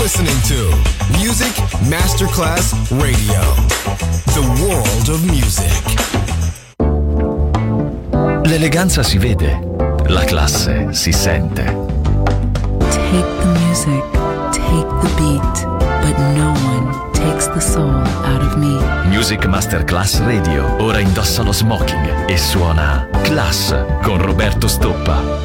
listening to Music Masterclass Radio, the world of music. L'eleganza si vede, la classe si sente. Take the music, take the beat, but no one takes the soul out of me. Music Masterclass Radio ora indossa lo smoking e suona Class con Roberto Stoppa.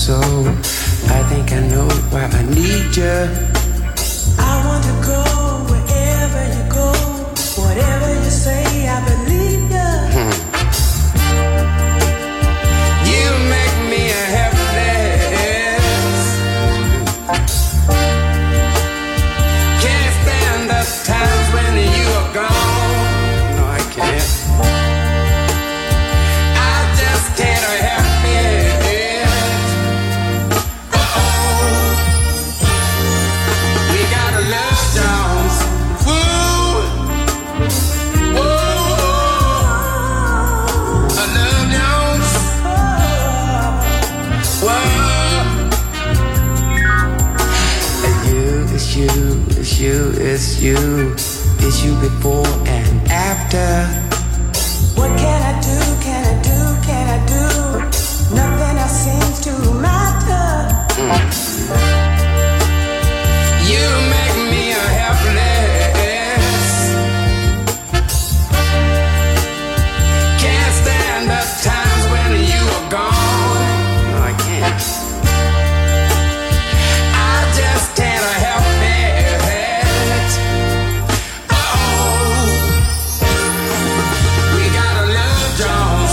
so. I think I know why I need you. I want to go wherever you go. Whatever you say, I believe you. You make me a helpless. Can't stand the times when you are gone. No, I can't. I just can't help it. Uh-oh. We got a love Jones. Woo. Whoa. A love Jones. Whoa. It's you, it's you, it's you. It's you before and after. What can I do, can I do, can I do? Nothing else seems to matter. You make me a helpless. Can't stand the times when you are gone. No, I can't. I just can't help it. Oh, we got a love Jones.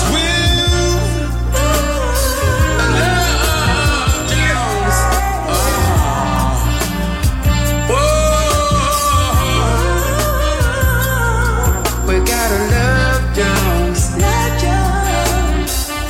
A love Jones. Whoa. We got a love Jones. Love Jones.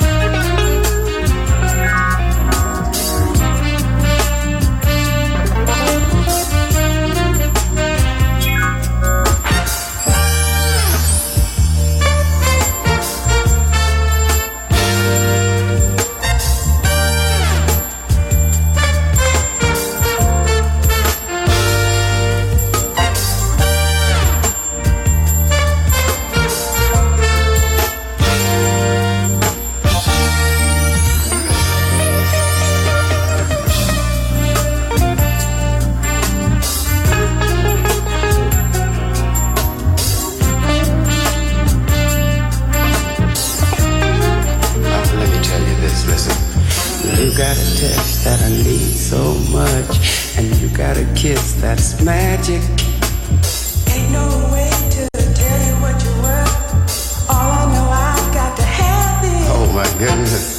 Let me tell you this, listen. You got a touch that I need so much, and you got a kiss that's magic. Ain't no way to tell you what you're worth. All I know, I've got to have it. Oh my goodness.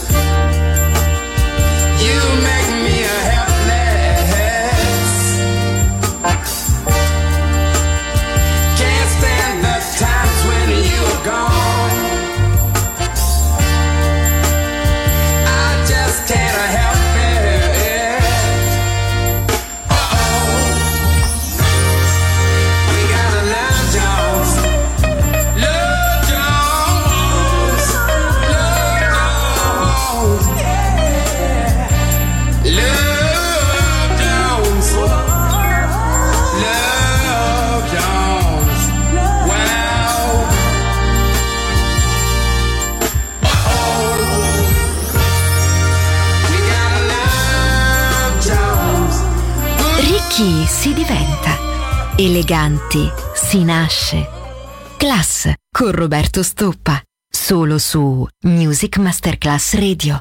You make me a helpless. Can't stand the times when you're gone. I just can't help it. Uh-oh. We got a love Jones. Love Jones. Love Jones. Yeah. Love Jones. Love Jones. Wow. Uh-oh. We got a love Jones. Ricchi si diventa, eleganti si nasce. Class con Roberto Stoppa, solo su Music Masterclass Radio.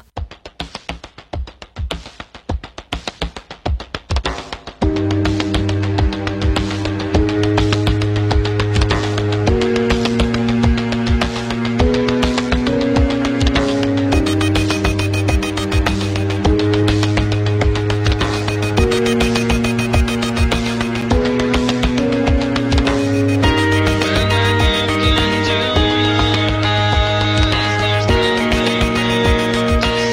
Into your eyes, there's nothing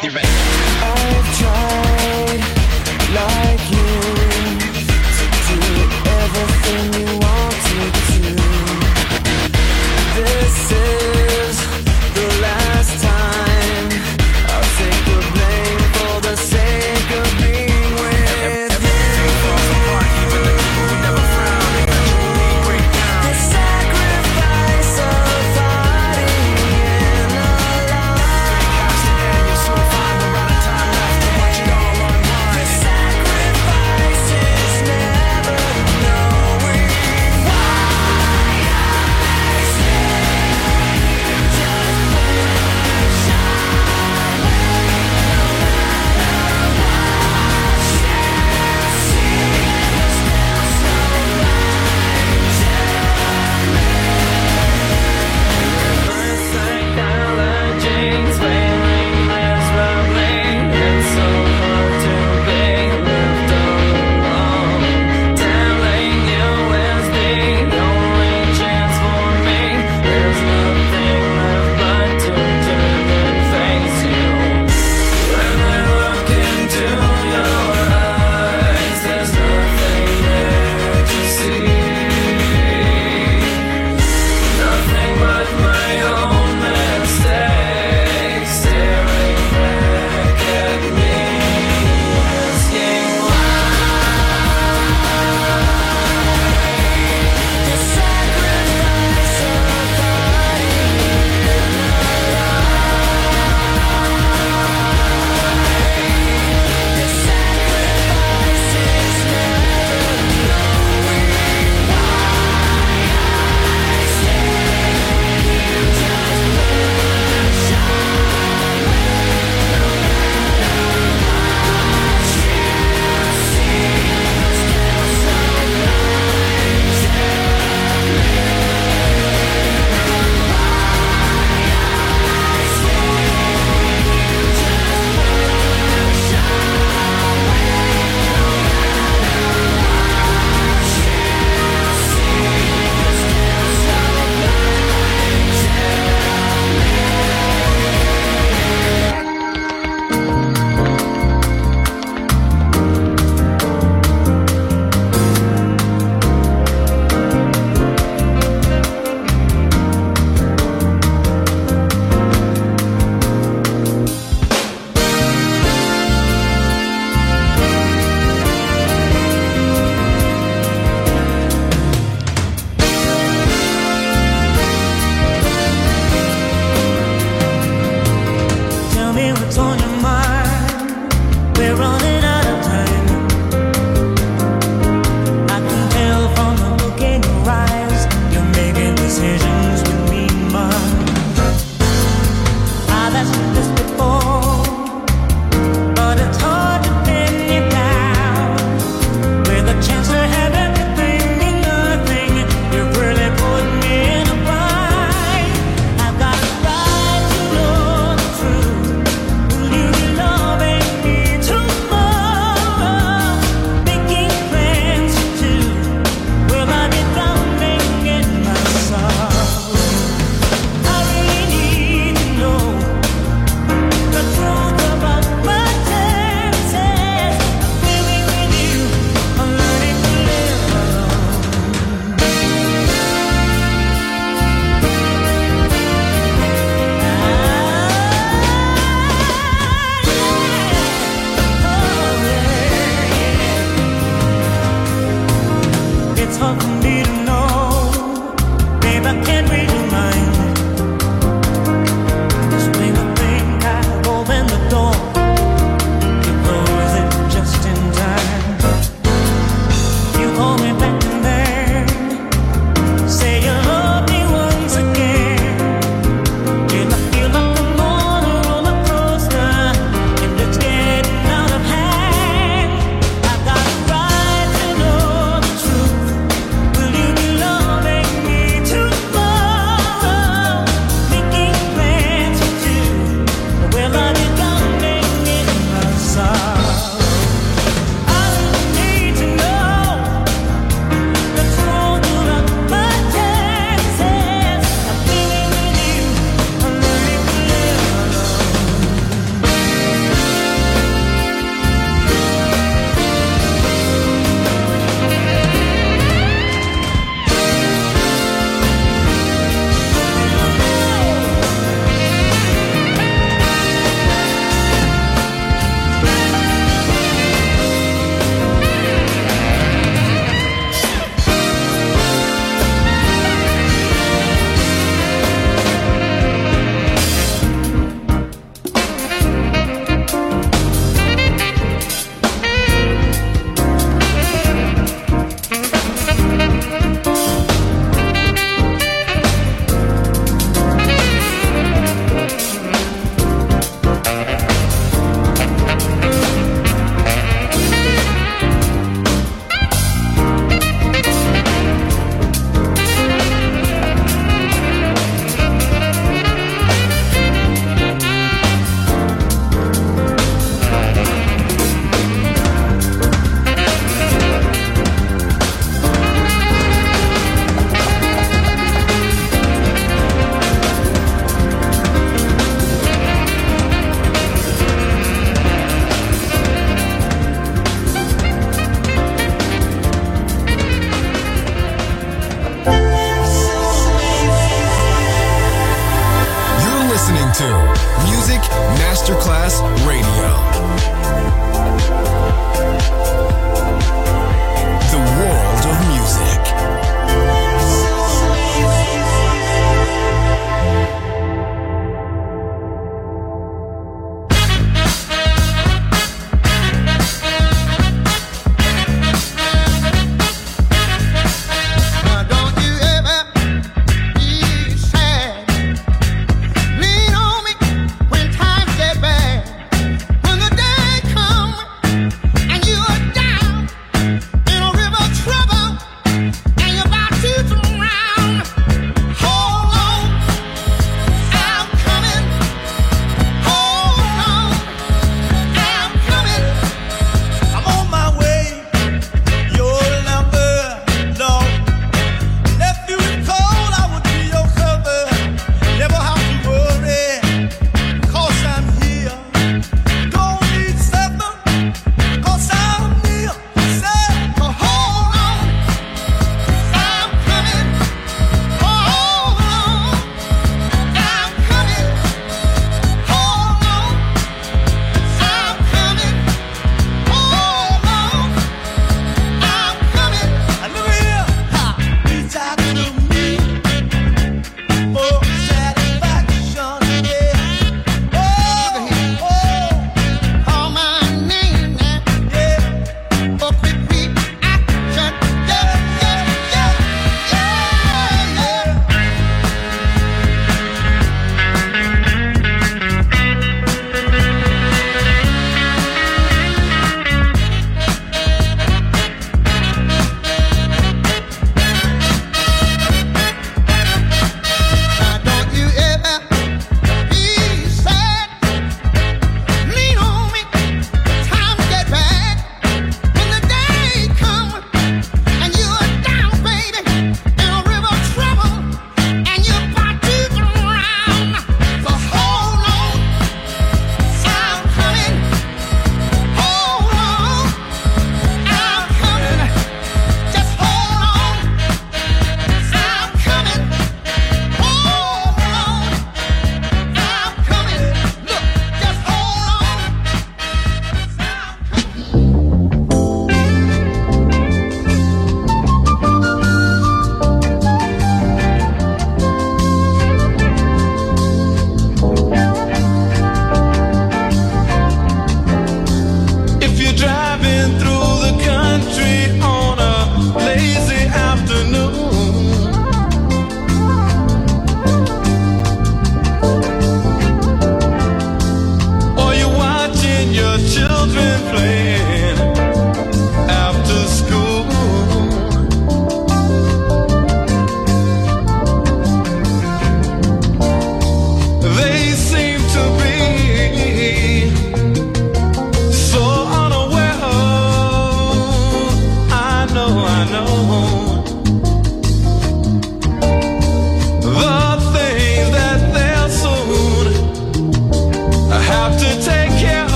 divertente. I've tried, like you, to do everything you wanted to. This is the last time I'll take the blame for the sake of being with you. Even the people who never frown, eventually break down. The sacrifice of fighting in the light. And you'll soon find the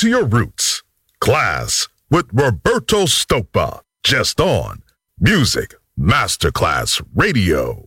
to your roots. Class with Roberto Stoppa. Just on Music Masterclass Radio.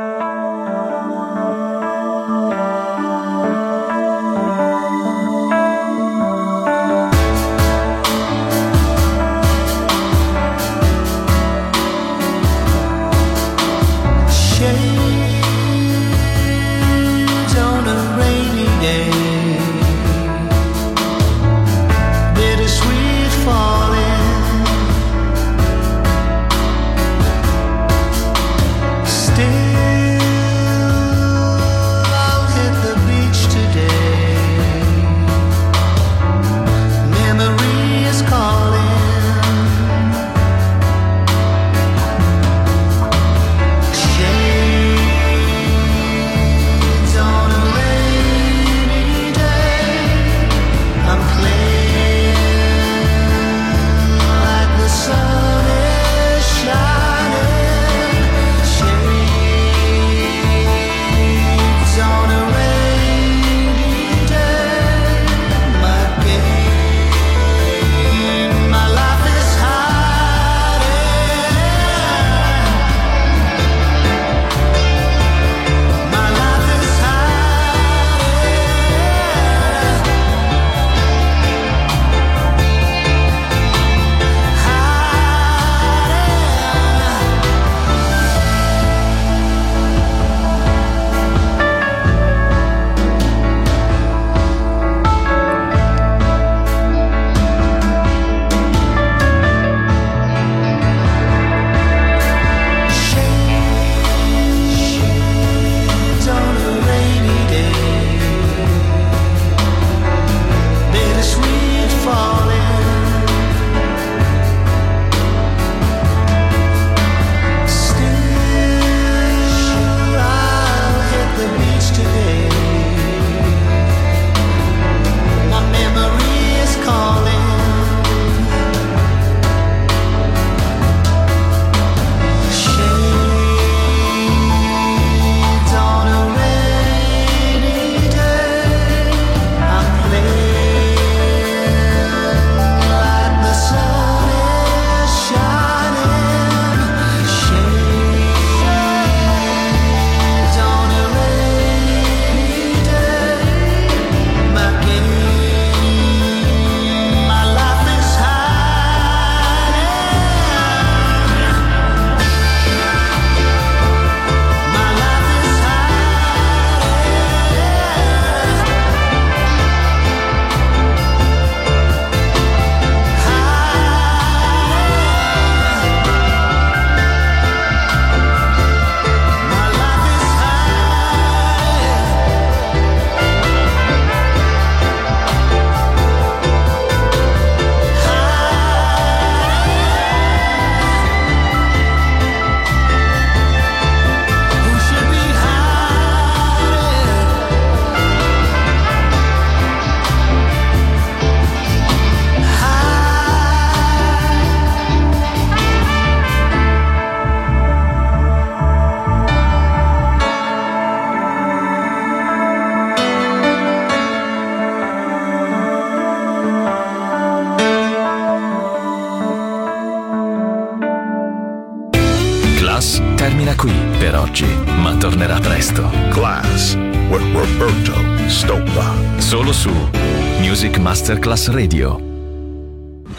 Termina qui per oggi, ma tornerà presto. Class with Roberto Stoppa. Solo su Music Masterclass Radio.